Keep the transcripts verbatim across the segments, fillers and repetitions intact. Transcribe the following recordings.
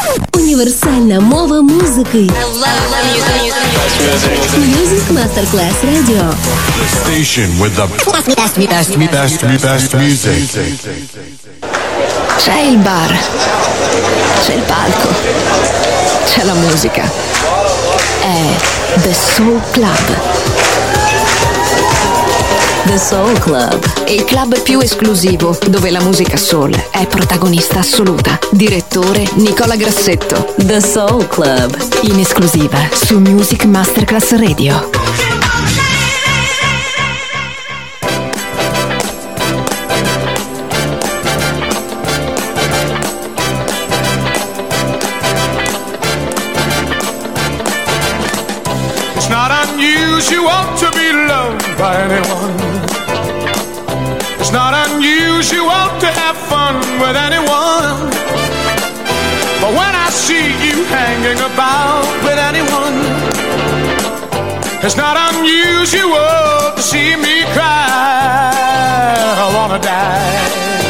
Универсально мова музыки. Music Masterclass Radio. The station with the best, best, best, best, best music. C'è il bar, c'è il palco, c'è la musica. È The Soul Club. The Soul Club. Il club più esclusivo dove la musica soul è protagonista assoluta. Direttore Nicola Grassetto. The Soul Club. In esclusiva su Music Masterclass Radio. It's not unusual to be loved by anyone. It's not unusual to have fun with anyone. But when I see you hanging about with anyone, it's not unusual to see me cry. I wanna die.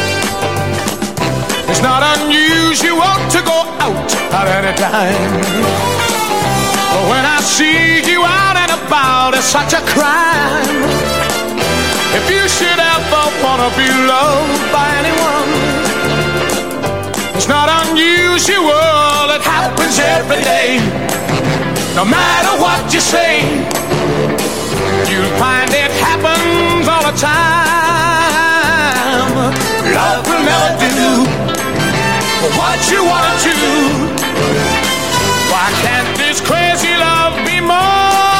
It's not unusual to go out at any time. But when I see you out and about, it's such a crime. If you should ever wanna be loved by anyone, it's not unusual, it happens every day. No matter what you say, you'll find it happens all the time. Love will never do what you wanna do. Why can't this crazy love be more?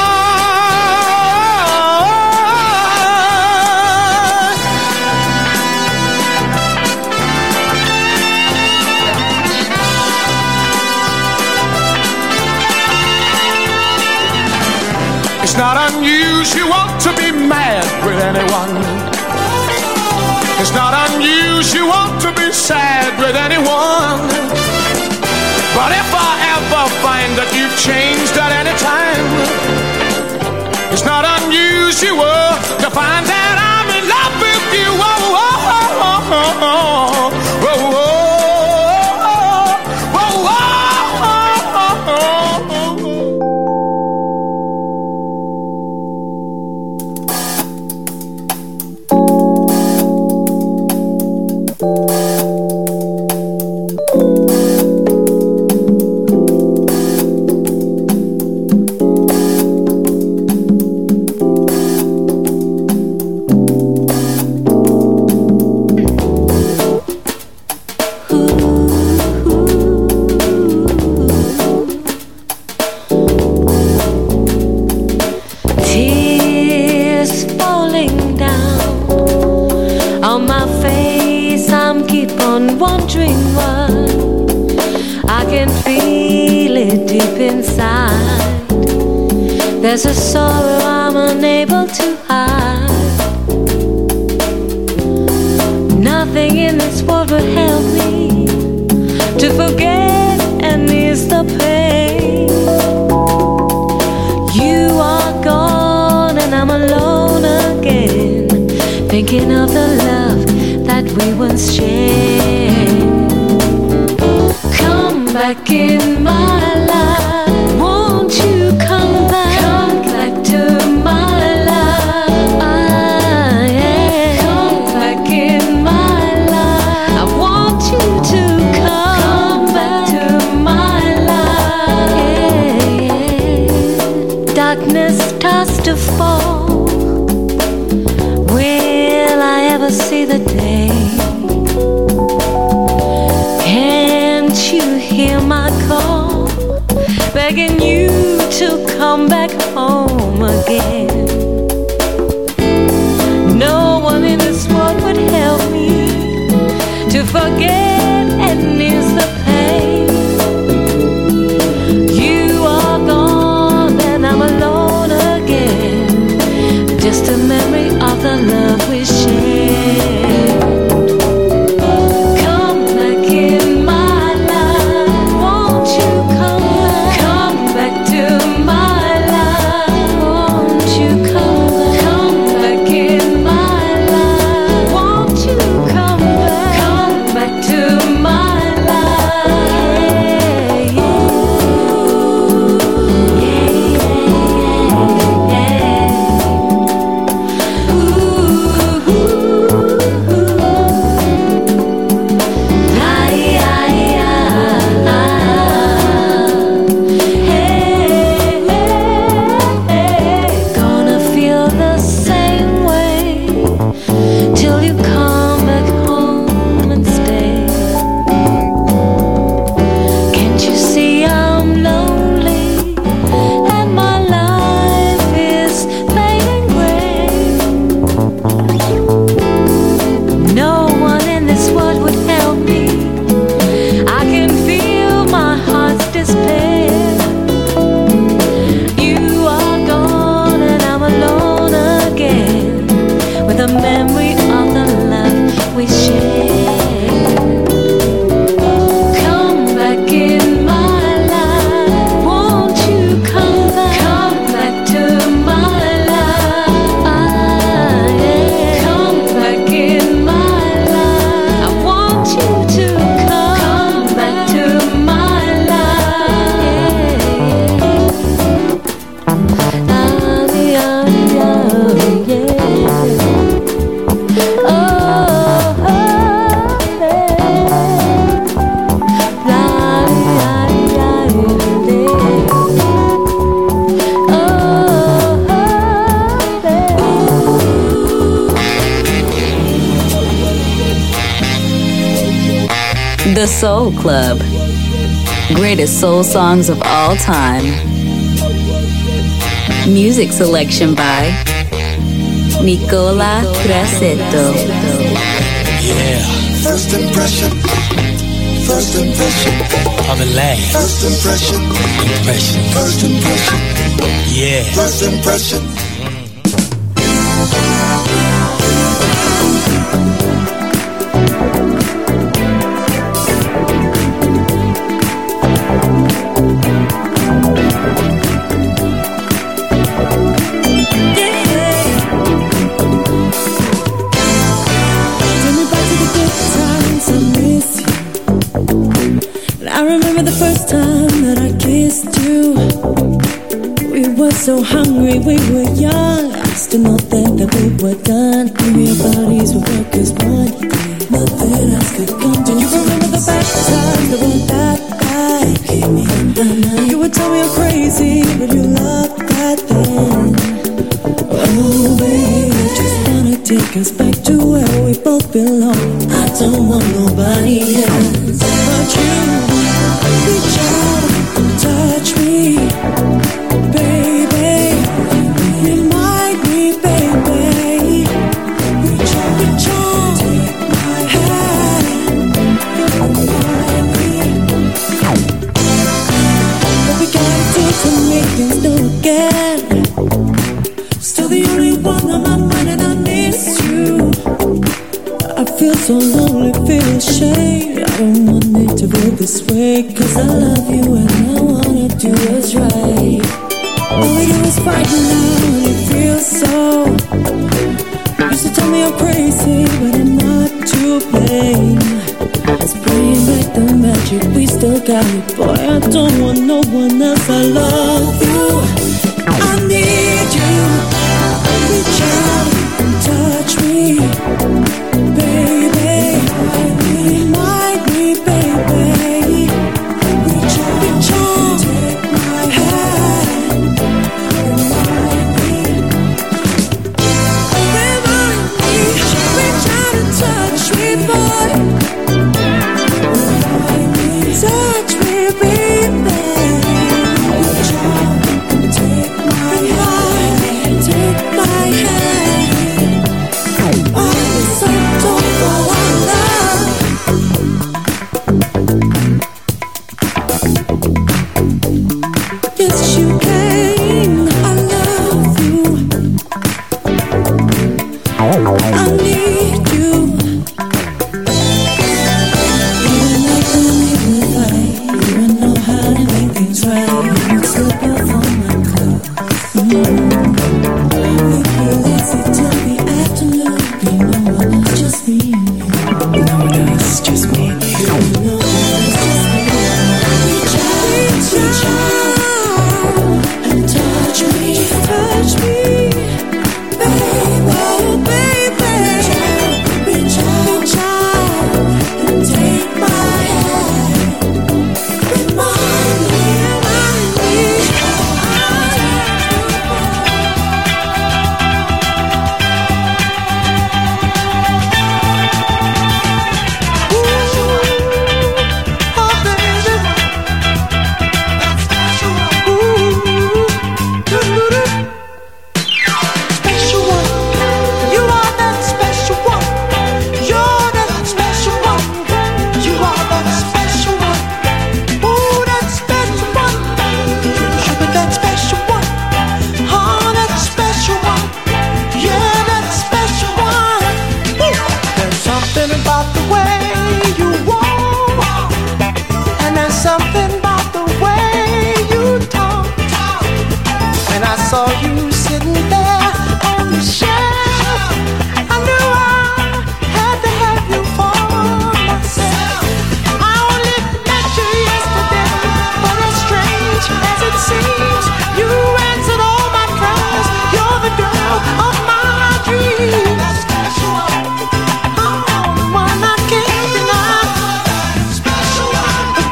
It's not unusual to be mad with anyone. It's not unusual to be sad with anyone. But if I ever find that you've changed at any time, it's not unusual to find that I'm in love with you. Whoa, whoa, whoa, whoa, whoa, whoa, whoa. There's a sorrow I'm unable to hide. Nothing in this world would help me to forget and ease the pain. You are gone and I'm alone again, thinking of the love that we once shared. Come back in my life. Won't you come back? Come back to my life. Ah, yeah. Come back in my life. I want you to come, come back to my life. Yeah, yeah. Darkness starts to fall. Will I ever see the day? Can't you hear my call, begging you to come back home again? No one in this world would help me to forget and ease the pain. You are gone and I'm alone again, just a memory of the love we shared. Won't you Soul Club. Greatest soul songs of all time. Music selection by Nicola Grassetto. Yeah. First impression. First impression. Of the last. First impression. Impression. First impression. Yeah. First impression. So hungry, we were young. I still not think that we were done. Maybe our bodies would work as one. Nothing else could come. Do you remember the bad times that weren't that bad? Keep me on my mind. You would tell me I'm crazy, but you loved that then. Oh baby, I just wanna take us back to where we both belong. I don't want nobody else but you. Reach out, touch me, baby. So lonely, feel ashamed. I don't want it to go this way, cause I love you and I wanna do what's right. All we do is fight now and it feels so. Used to tell me I'm crazy, but I'm not to blame. Let's bring back the magic, we still got it. Boy, I don't want no one else, I love you. I need you. Reach out and touch me, baby. Remind me, baby. Reach out, reach out, take my hand. Remind me, remind me. Reach out and touch me, boy. Remind me, touch me, baby. Reach out and take my hand, take my hand. Oh, so don't go on. Yes, you can. I love you. I need you. Even like when we would fight, you would know how to make things right. You would slip up on my clothes. Mm-hmm. We'd be lazy till the afternoon. You know it's just me and you. You know it's just me and you. You know it's just me. Reach out, reach out, and touch me, touch me, baby, oh baby. Reach out, reach out, and take my hand. Remind me, remind me.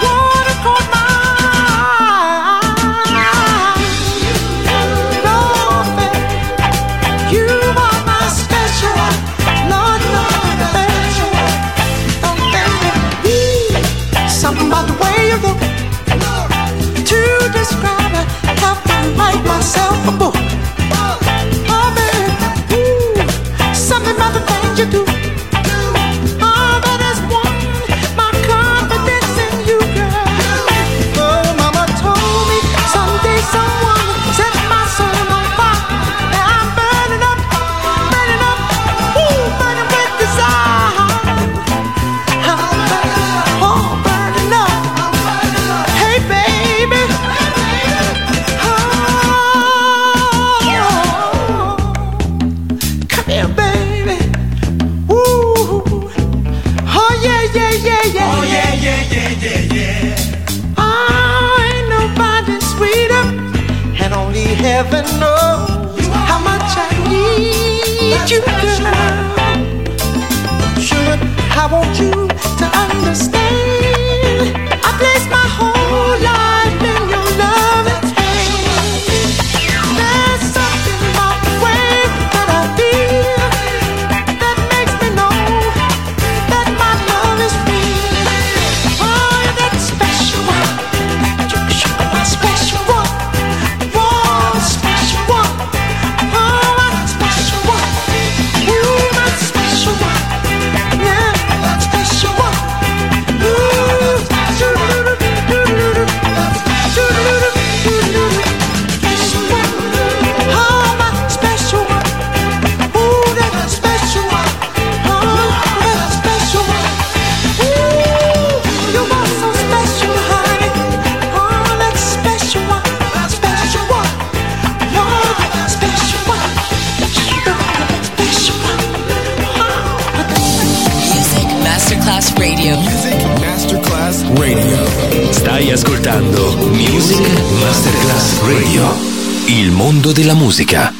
No never know how much I need you, girl. Sugar, I want you to understand. I place my whole life in your loving hand. There's something about the way that I feel that makes me know that my love is real. Oh, you're that special one. You're my special one. Oh, special one. Oh, my special one. Ooh, my special one. Yeah, that special one. Ooh, special one. Oh, my special one. Ooh, that special one. Oh, that special one. Ooh, you are so special, honey. Oh, that special one. Special one. Oh, that special one. Sugar, that special one. Music Masterclass Radio. Music Masterclass Radio. Stai ascoltando Music Masterclass Radio. Il mondo della musica.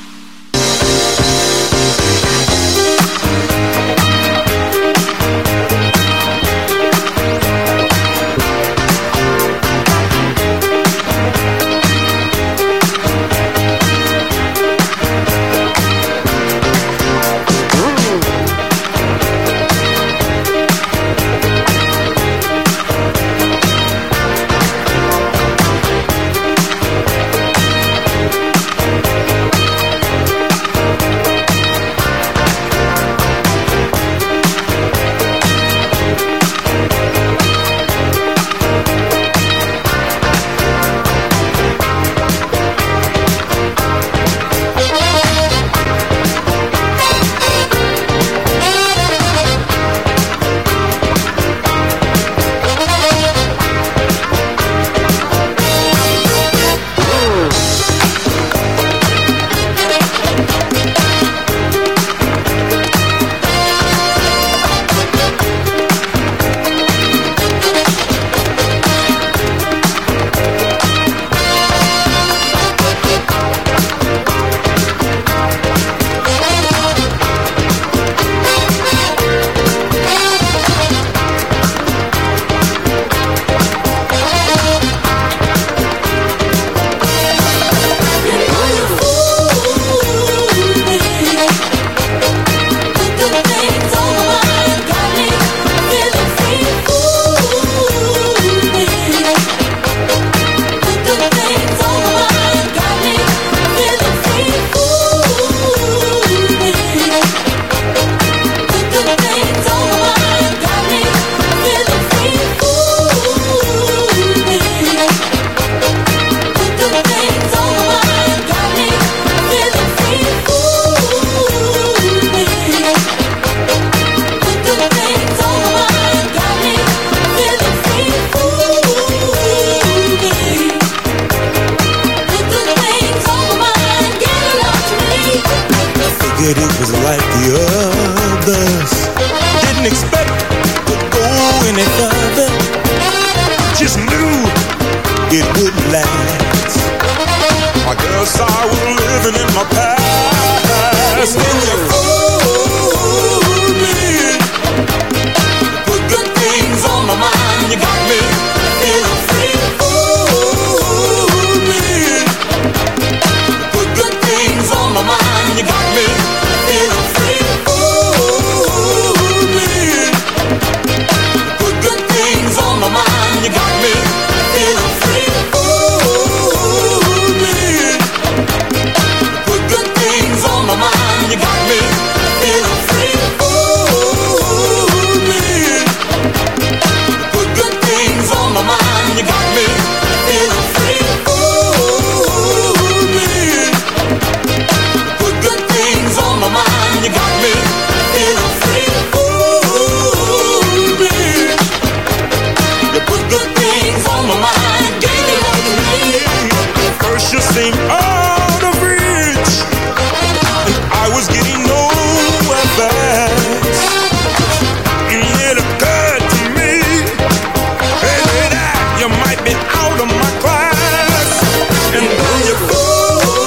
It was like the others. Didn't expect to go any further. Just knew it wouldn't last. I guess I was living in my past. When you fooled me, put good things on my mind. You got me feeling free. Fooled me, put good things on my mind. You got me feeling free. Fooled me, put good things on my mind. You got me feeling free. Fooled me, put good things on my mind. You got me feeling free. Fooled me, put good things on my mind. You got me feeling free. Fooled me, put good things on my mind. You got me feeling free. Fooled me, you put good things on my mind. Gave it all to me. First you seemed out of reach, and I was getting nowhere fast. And it occurred to me, baby, that you might be out of my class. And then you fooled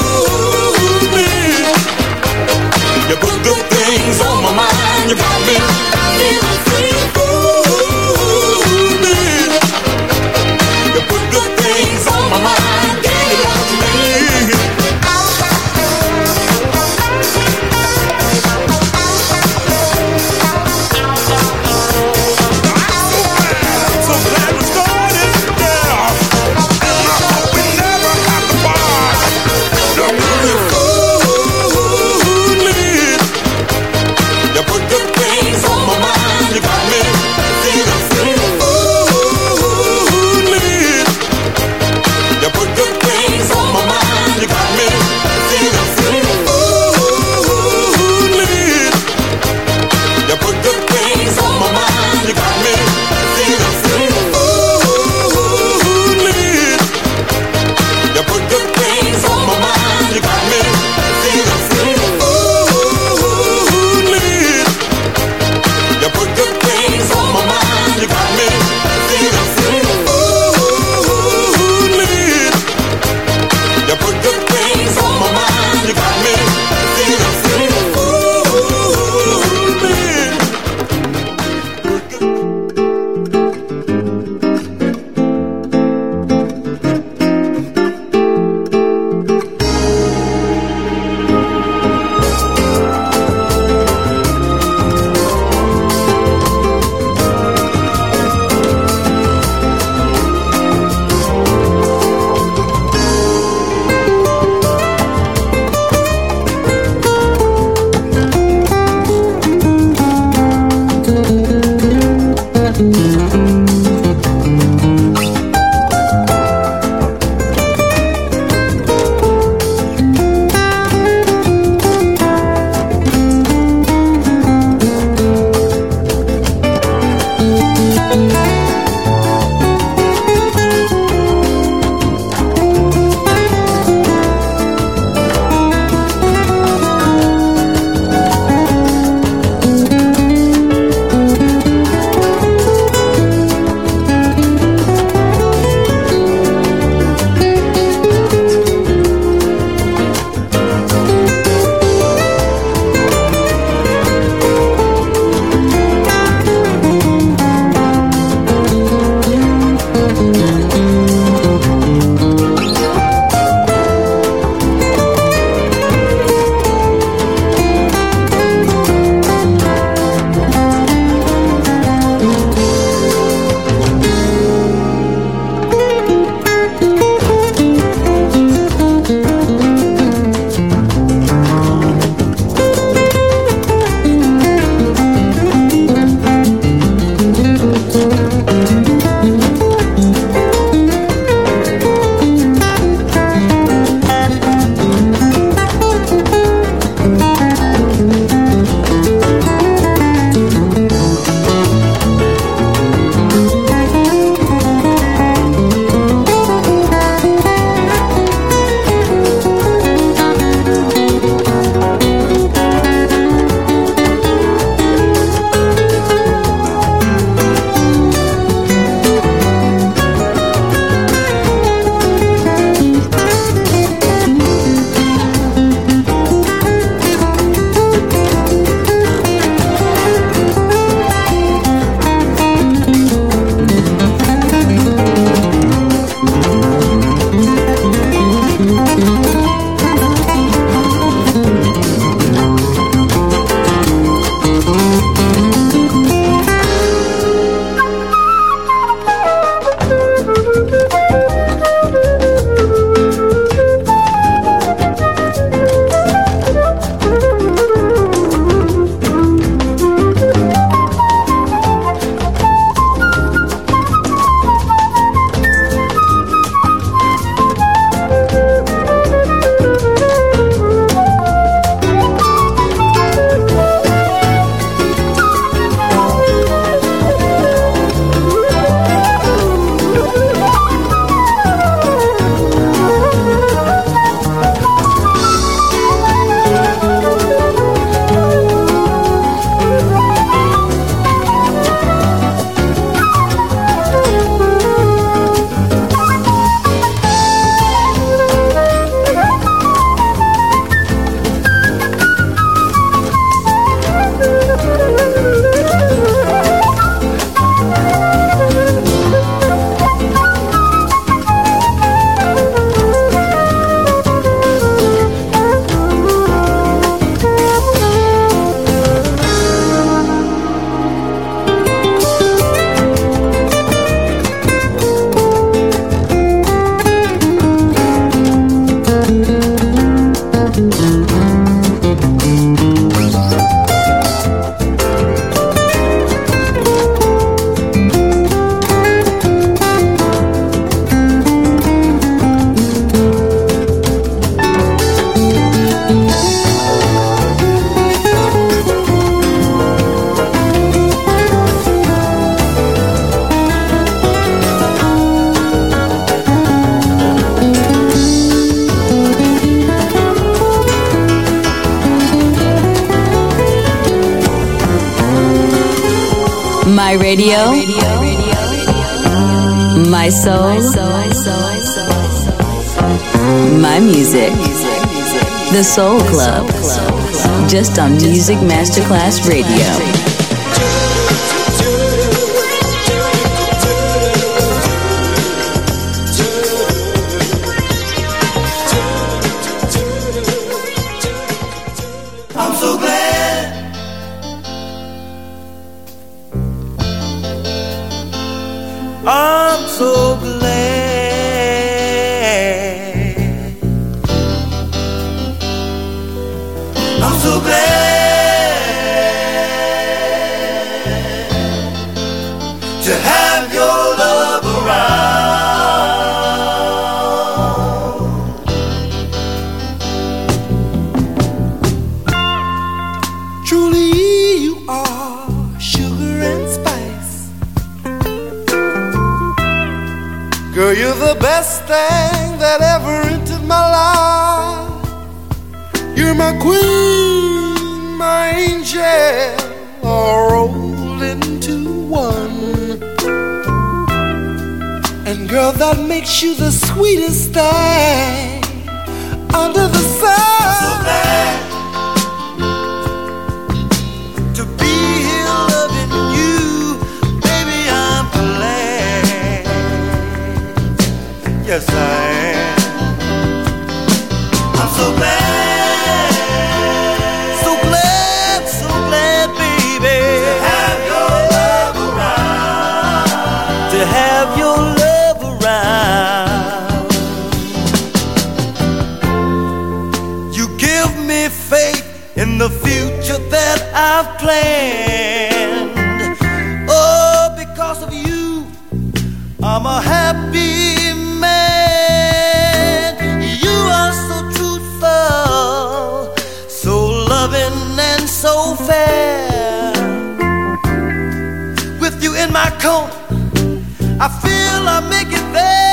My radio, my soul, my music. The Soul Club, just on Music Masterclass Radio. I'm so glad I'm so glad to have your love around. Truly you are sugar and spice. Girl, you're the best thing that ever entered my life. You're my queen, my angel, all rolled into one. And girl, that makes you the sweetest thing under the sun. I'm so glad to be here loving you, baby, I'm glad. Yes, I am. I'm so glad. In the future that I've planned, oh, because of you, I'm a happy man. You are so truthful, so loving and so fair. With you in my corner, I feel I make it there.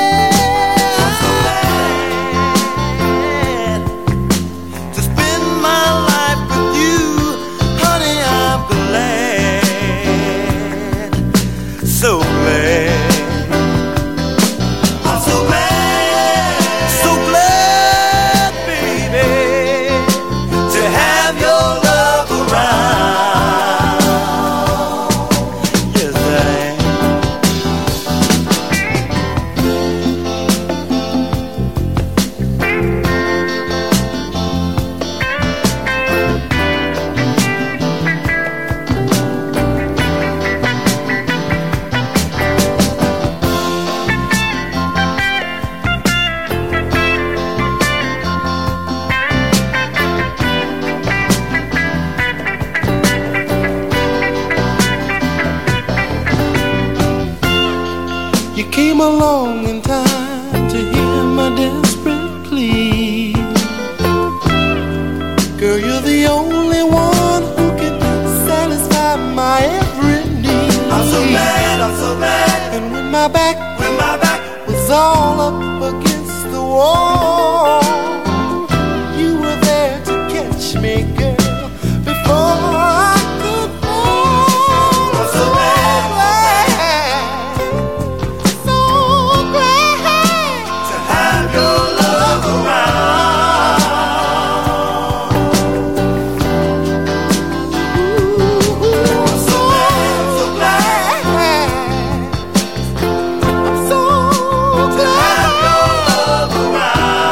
So glad, I'm so glad, so glad, baby, to have your love around. Yes, I came along in time to hear my desperate plea. Girl, you're the only one who can satisfy my every need. I'm so glad, I'm so glad. And when my back, when my back was all up against the wall, you were there to catch me, girl, before I could fall. I'm so glad. Around.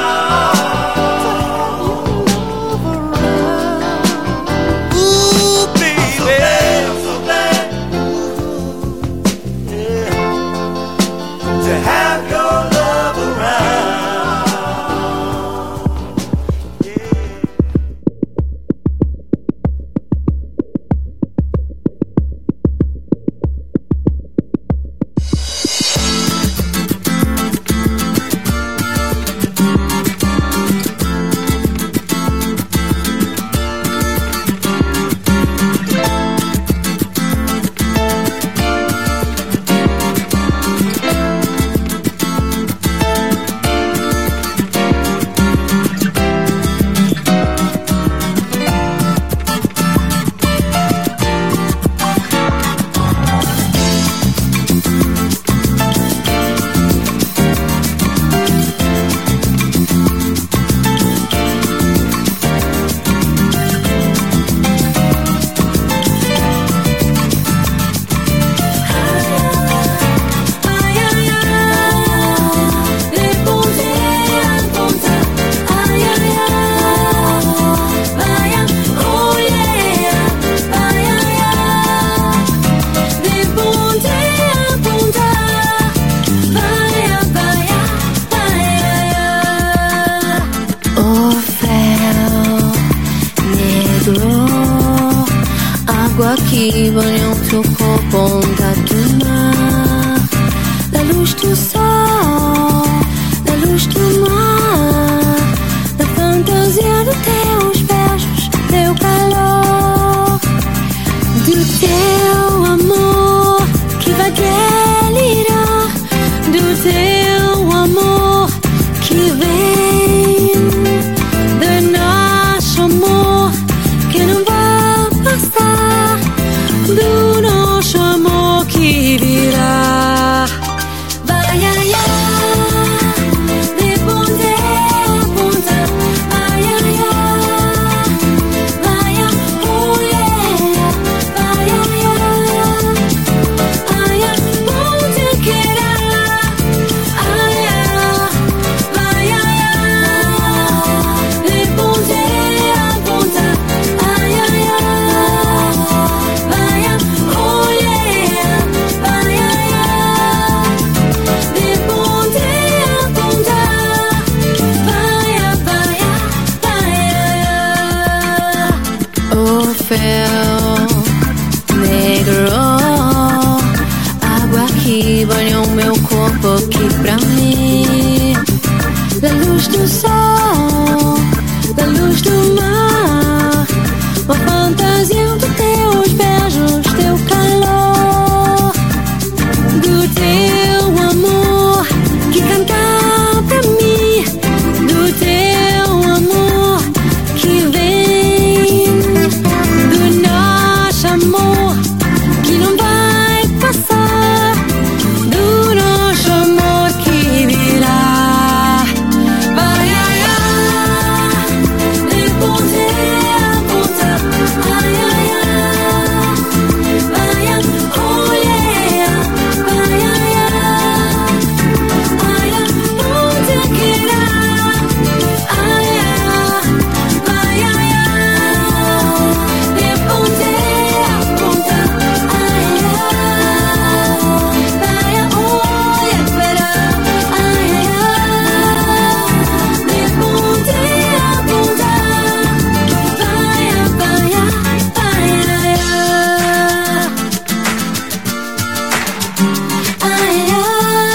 qui vogliamo il tuo corpo da tomar. La luz do sol, la luz do mar, da fantasia dos teus beijos, teu calor, do teu amor que vai delirar, do teu amor que vem, do nosso amor que não vai passar, do nosso amor que virá. Vai, ai, ai, de ponta a ponta. Vai, ai, ai, vai, oh yeah. Vai, ai, ai, ai, onde queira. Ai, ai, vai, ai, ai, de ponta a ponta. Ai, ai, ai, vai, oh yeah. Vai, ai, ai, de ponta a ponta. Vai, vai, vai, o fel negro, água que banha o meu corpo aqui pra mim. Da luz do sol, da luz do mar, uma fantasia dos teus beijos, teu calor, do teu amor que canta pra mim, do teu amor que vem, do nosso amor que não vai passar, do nosso amor que virá. Vai, ai, ai, de ponta a ponta. Ai, ai, ai, vai, oh yeah. Vai, ai, ai, vai, onde queira. Ai, ai, vai, ai, ai, de ponta a ponta. Ai, ai, vai, oh yeah, espera. Ai, ai, de ponta a ponta. Vai, vai, vai, ai, ai, ai.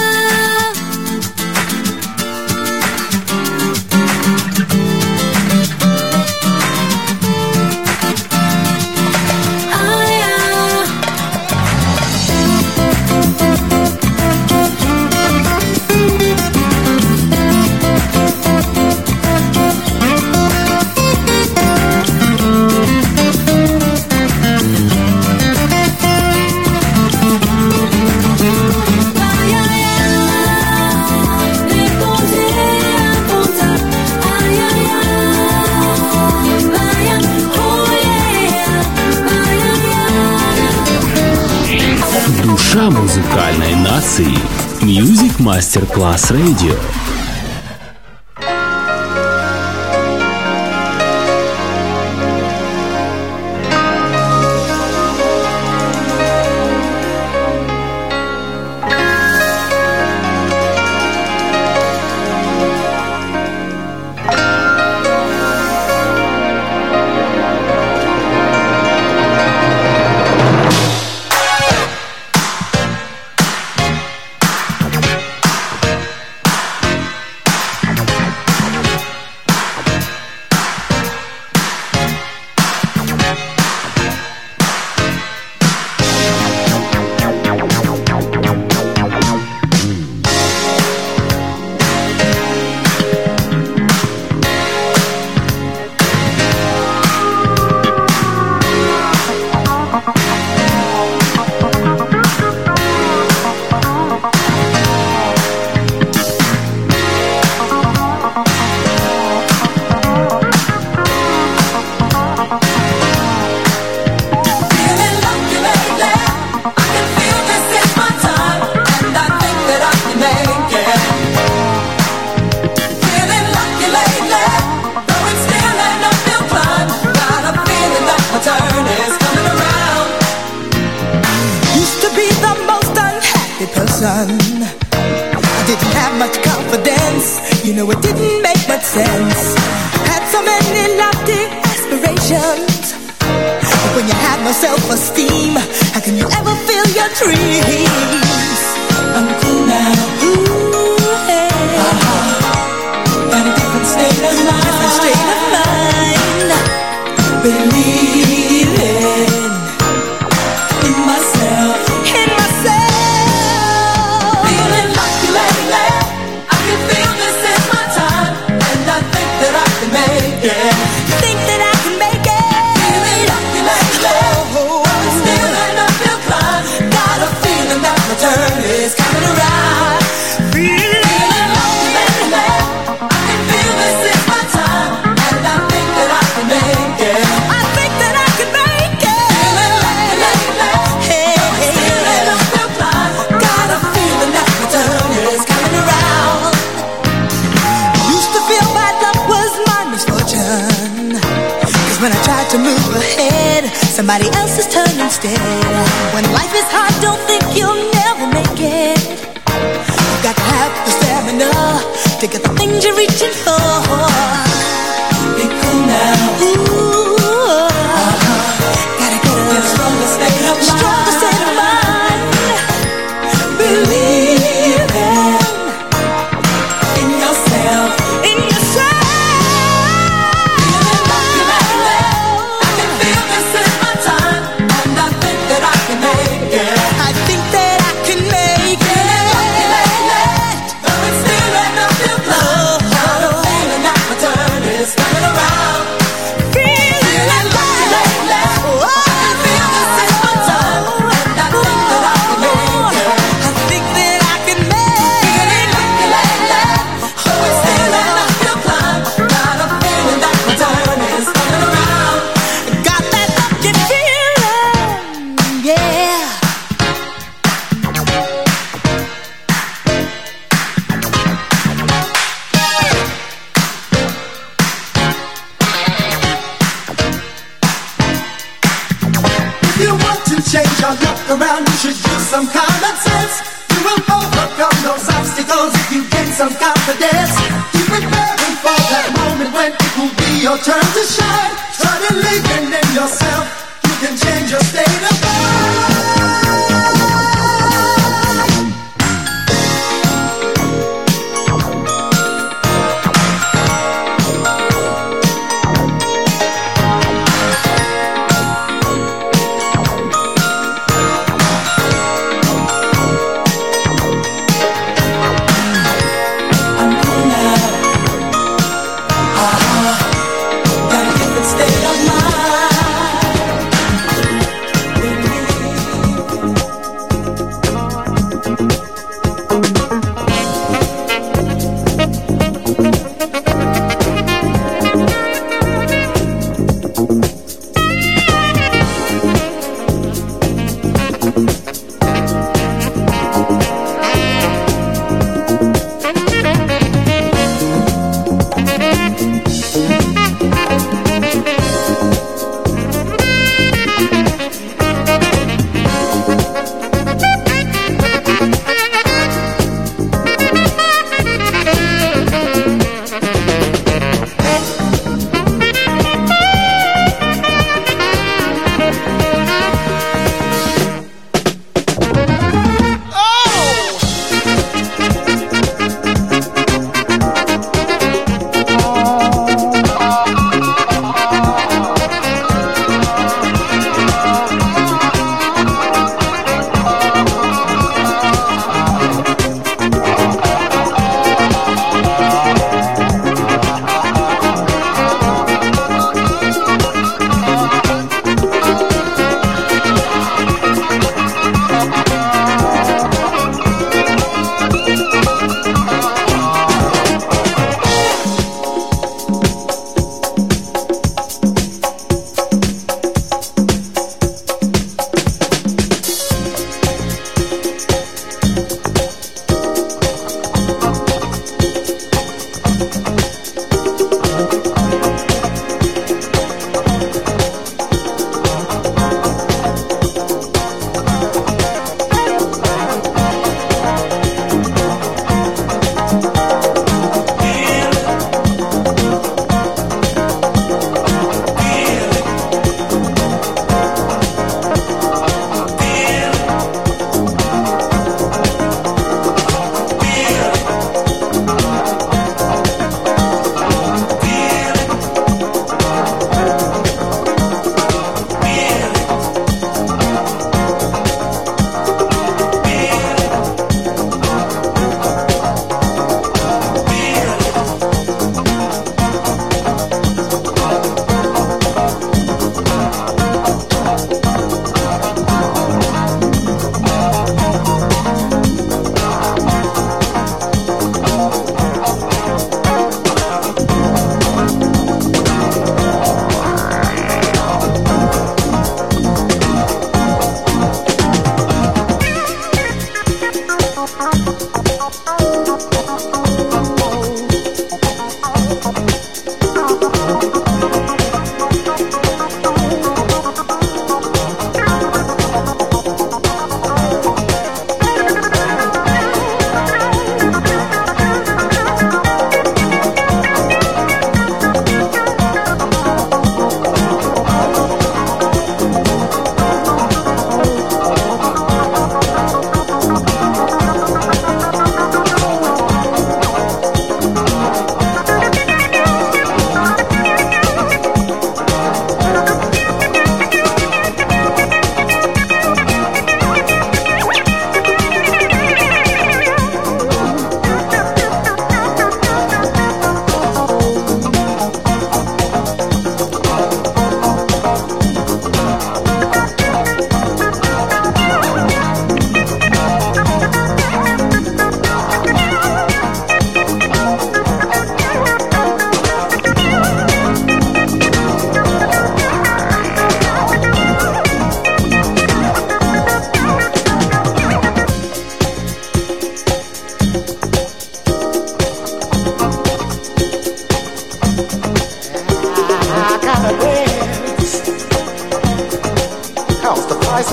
Душа музыкальной нации. Music Masterclass Radio. I didn't have much confidence, you know it didn't make much sense. Had so many lofty aspirations, but When you have no self-esteem, how can you ever feel your dreams? I'm cool now. Ooh, hey. Uh-huh. Got a different state of mind. Different state of mind. Believing in myself. In myself. Feeling lucky lately. I can feel this is my time, and I think that I can make it. Think that I can make it. Feeling lucky lately. Oh, I'm still in a uphill climb. Got a feeling that my turn is coming around. Feeling lucky lately. I can feel this is my time, and I think that I can make it. I think that I can make it. Feeling lucky lately. Hey, I'm still in a uphill climb. Got a feeling that my turn is coming around. Used to feel bad luck was my misfortune, 'cause when I tried to move ahead, somebody else's turn instead. When life is hard, don't think you'll never make it. You got to have the stamina to get the things you're reaching for. Be cool now. Ooh, uh-huh. Gotta get a, get a stronger state of mind. Stronger state of mind. Believing in yourself. In yourself. Feeling lucky lately. I can feel this is my time, and I think that I can make it. I think that I can make it. Feeling lucky lately. Though it's still an uphill climb. Got a feeling that my turn is coming around. Feeling lucky lately. I can feel this is my time, and I think that I can make it. I think that I can make it. Feeling lucky lately. Though it's still an uphill climb. Got a feeling that my turn is coming around. Got that lucky feeling, yeah. If you want to change your look around, you should use some common sense. You will overcome those obstacles if you gain some confidence. Keep preparing for that moment when it will be your turn to shine. Start believing in yourself. You can change your state of mind. I'm cool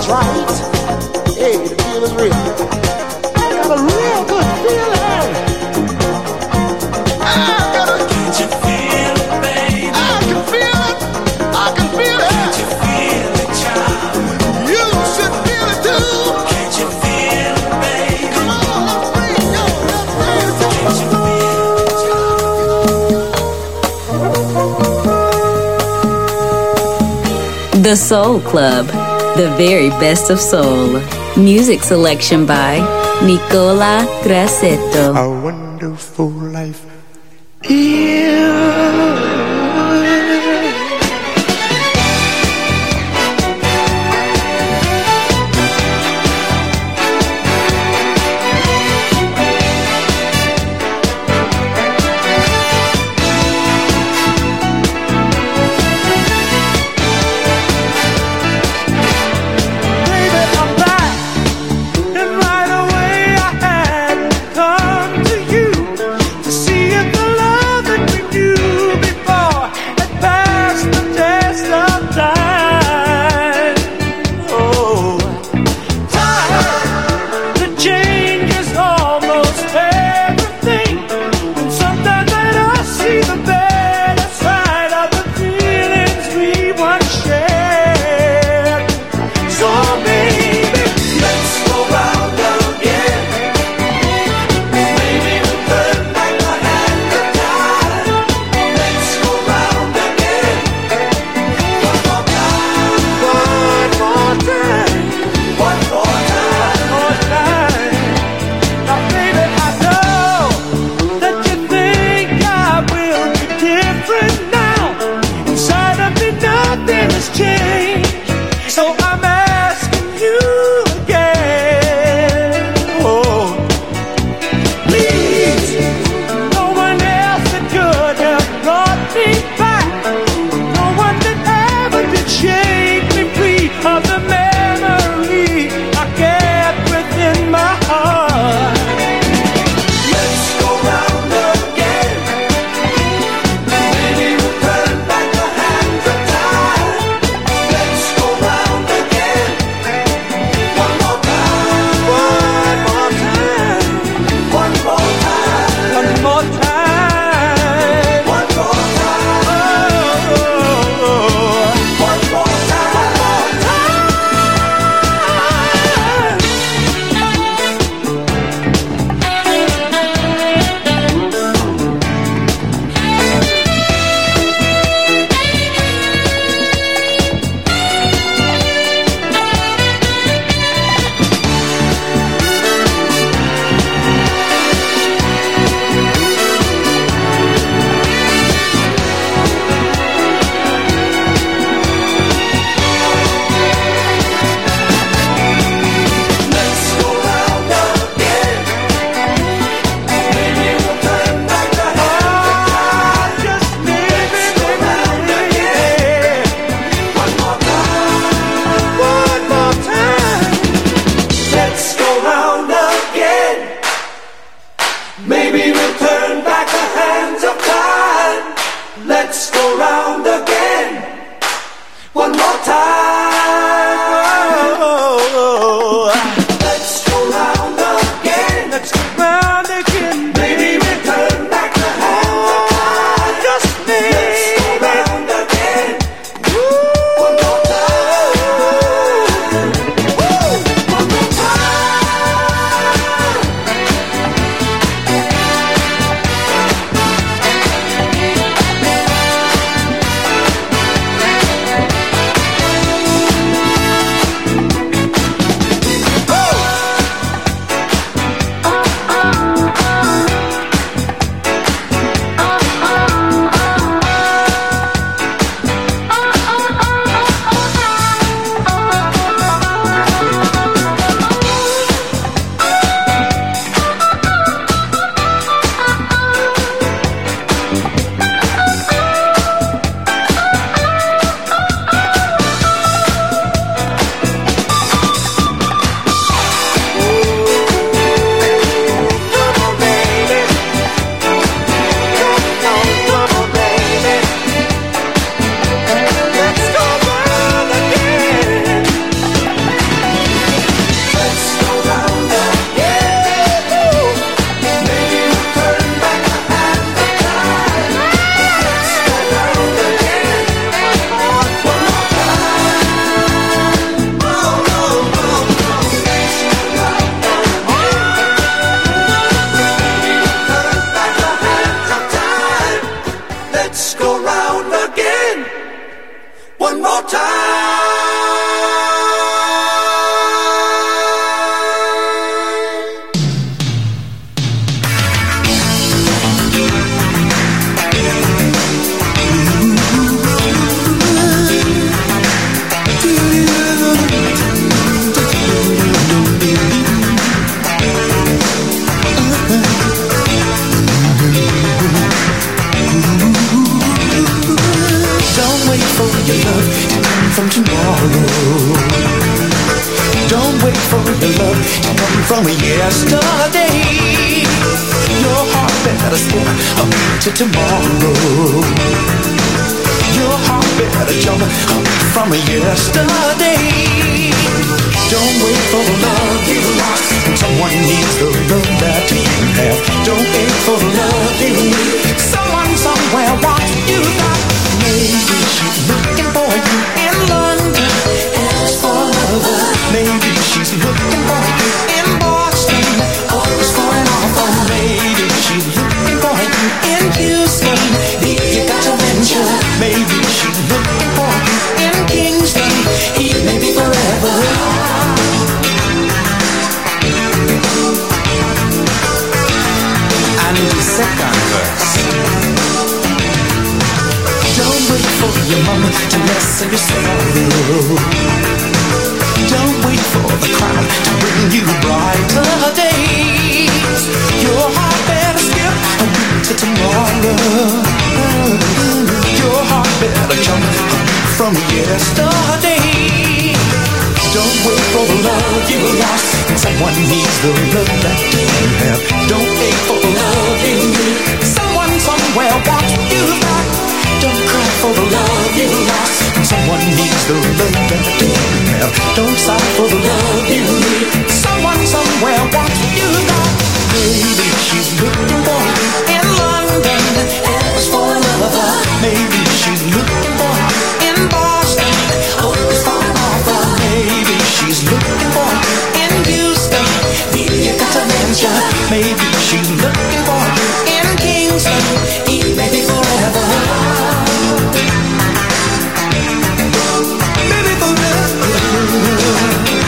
right. Hey, the feel is real. I got a real good feeling. I got a. Can't you feel it, baby? I can feel it. I can feel it. Can't you feel it, child? You should feel it too. Can't you feel it, baby? Come on, let's bring it. Yo, let's bring it. Can't you feel it, child? The Soul Club, the very best of soul. Music selection by Nicola Grassetto. A wonderful life. Yeah. Come to you to see if the love that we knew before yesterday. Your heart better skip a beat to tomorrow. Your heart better jump from yesterday. Don't wait for the love you lost. Someone needs the love that you have. Don't wait for the love you need. Someone somewhere wants you back. Maybe she's looking for you in London. Ask for love. Maybe she's looking for you in Boston. Always going off on. Maybe she's looking for you in Houston. You got to mention. Maybe she's looking for you in Kingston. Maybe forever. And the second verse. Don't wait for your mama to lessen your sorrow. Don't wait for the crown to bring you brighter days. Your heart better skip a week to tomorrow. Your heart better jump from yesterday. Don't wait for the love you lost. Someone needs the love that you have. Don't wait for the love you need. Someone somewhere wants you back. Don't cry for the love you lost. Someone needs the love that you have. Don't sigh for the love you need. Someone somewhere wants you back. Maybe she's looking for you in London. Ask for love. Maybe she's looking for you in Boston. Always falling off. Maybe she's looking for you in Houston. You got to mention. Maybe she's looking for you in Kingston. Maybe forever. Maybe forever.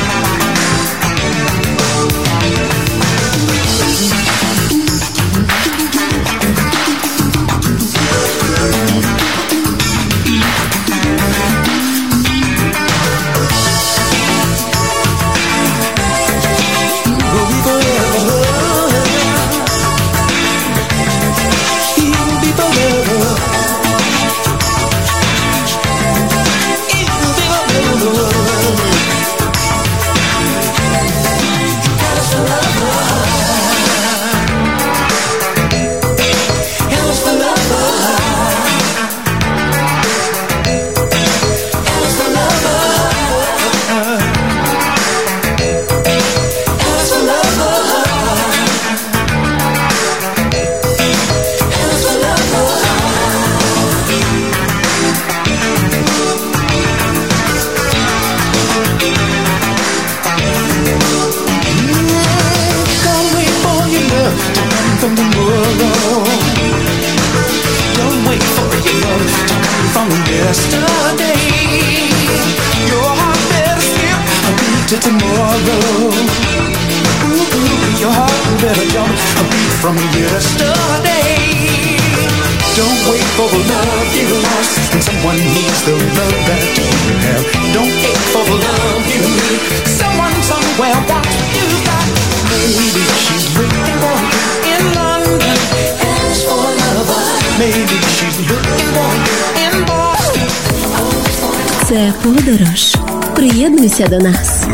Це подорож. Приєднуйся до нас.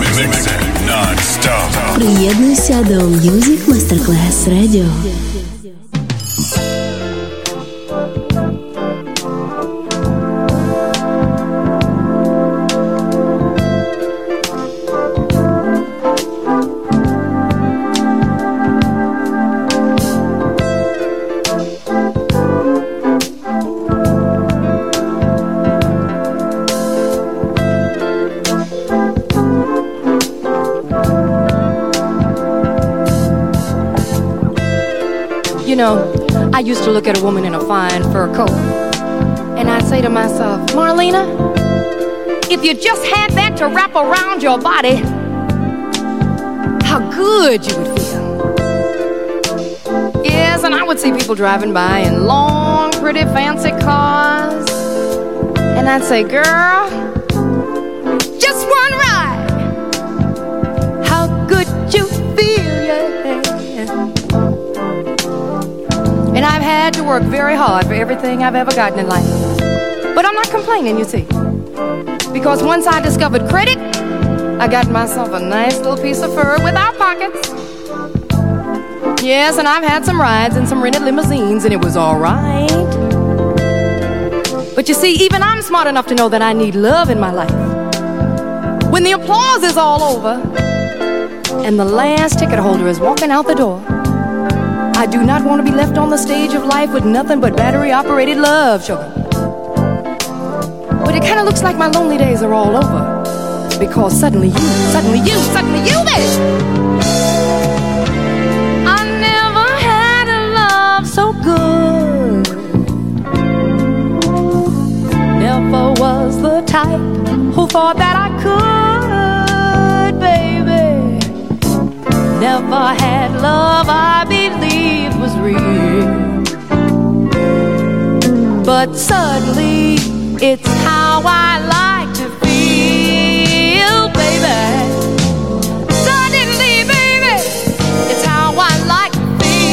Приєднуйся до Music Masterclass Radio. You know, I used to look at a woman in a fine fur coat, and I'd say to myself, Marlena, if you just had that to wrap around your body, how good you would feel. Yes, and I would see people driving by in long, pretty, fancy cars, and I'd say, girl, just one ride, how good you feel, yeah. And I've had to work very hard for everything I've ever gotten in life. But I'm not complaining, you see. Because once I discovered credit, I got myself a nice little piece of fur without pockets. Yes, and I've had some rides in some rented limousines, and it was all right. But you see, even I'm smart enough to know that I need love in my life. When the applause is all over and the last ticket holder is walking out the door, I do not want to be left on the stage of life with nothing but battery-operated love, sugar. But it kind of looks like my lonely days are all over, because suddenly you, suddenly you, suddenly you, baby. I never had a love so good. Never was the type who thought that I could, baby. Never had love I believed was real. But suddenly, it's how I like to feel, baby. Suddenly, baby, it's how I like to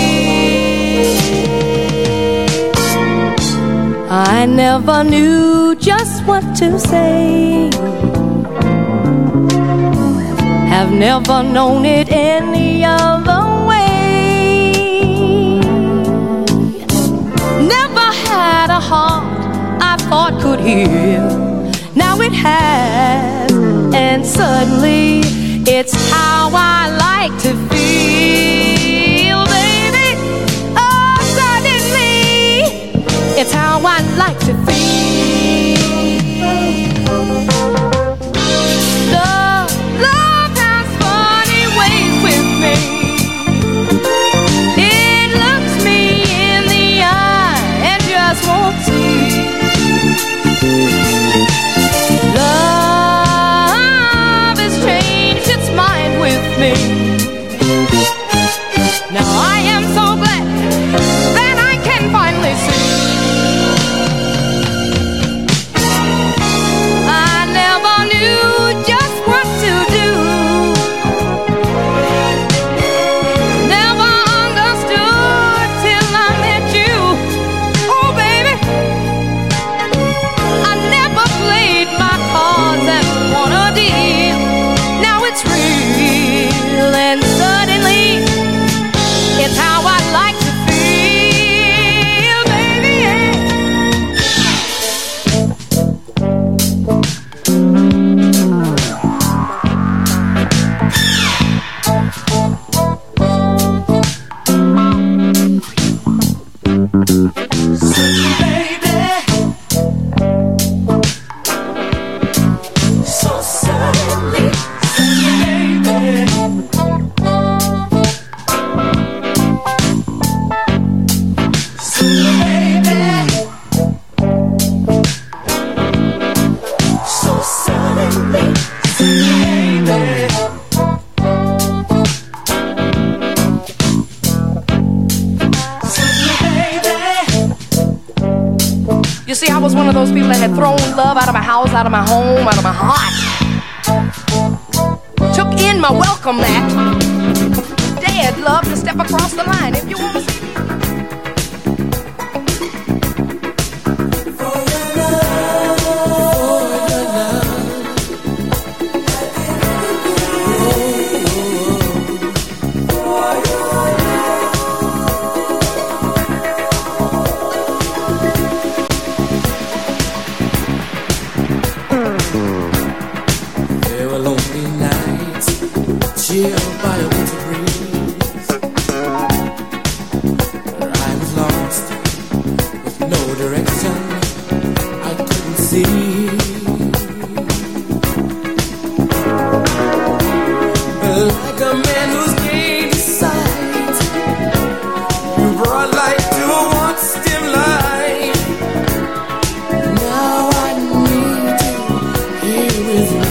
feel. I never knew just what to say. Have never known it any other way. Never had a heart I thought could heal. Now it has, and suddenly it's how I like to feel, baby. Oh, suddenly it's how I like to feel. Love, love has funny ways with me. It looks me in the eye and just won't see. Love has changed its mind with me. Now I am so glad that I can finally see. I never knew just what to do. Never understood till I met you. Oh, baby, I never played my cards and won a deal. Now it's real, and suddenly it's how I like to feel, baby. So suddenly, baby. So suddenly, baby. You see, I was one of those people that had thrown love out of my house, out of my home, out of my heart. Took in my welcome mat. Dared love to step across the line. If you want to see There were lonely nights, chilled by a winter breeze. I was lost with no direction, I couldn't see. Like a man who's gained his sight, you brought light to a once dim life. Now I need you here with me.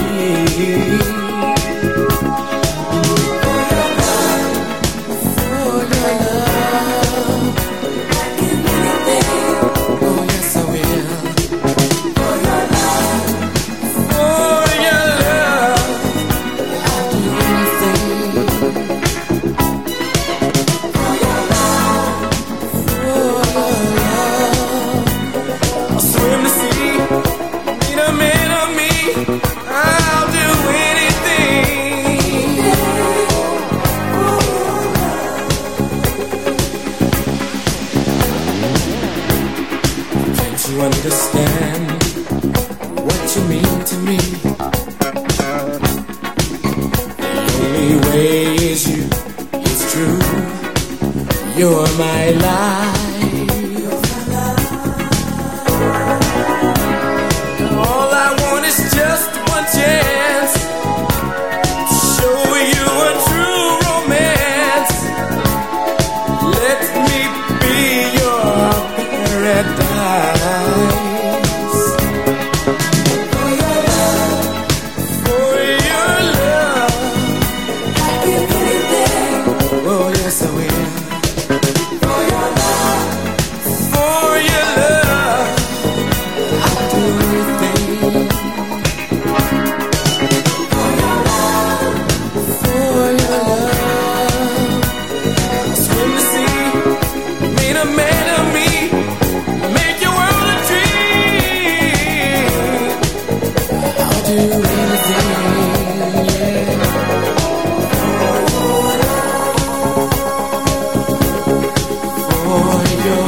For your love, for your love, I can do anything. Oh yes I will. For your love. understand what you mean to me. The only way is you, it's true. You're my life. All I want is just one chance to show you a true romance. Let me be your paradise. For your love, for your love, I give anything. Oh yes I will. For your love, for your love, I'll do anything. For your love, for your love, I'll swim the sea, made a man of me. Make your world a dream. I'll do anything, yeah. For your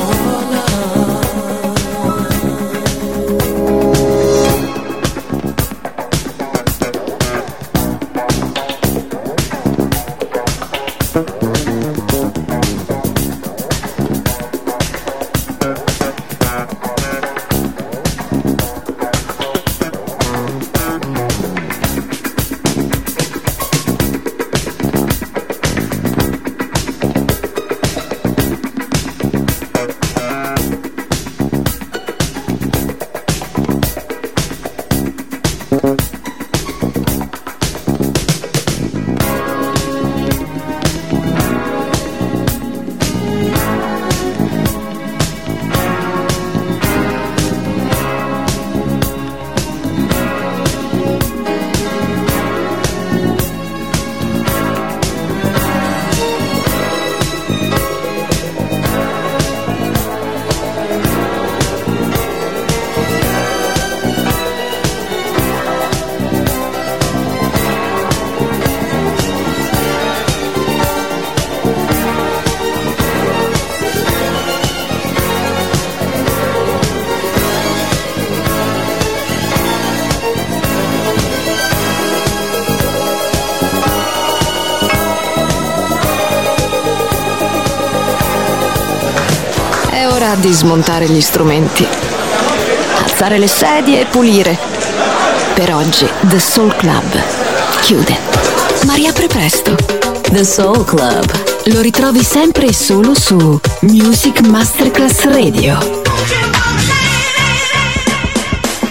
Di smontare gli strumenti, alzare le sedie e pulire. Per oggi The Soul Club chiude, ma riapre presto. The Soul Club Lo ritrovi sempre e solo su Music Masterclass Radio.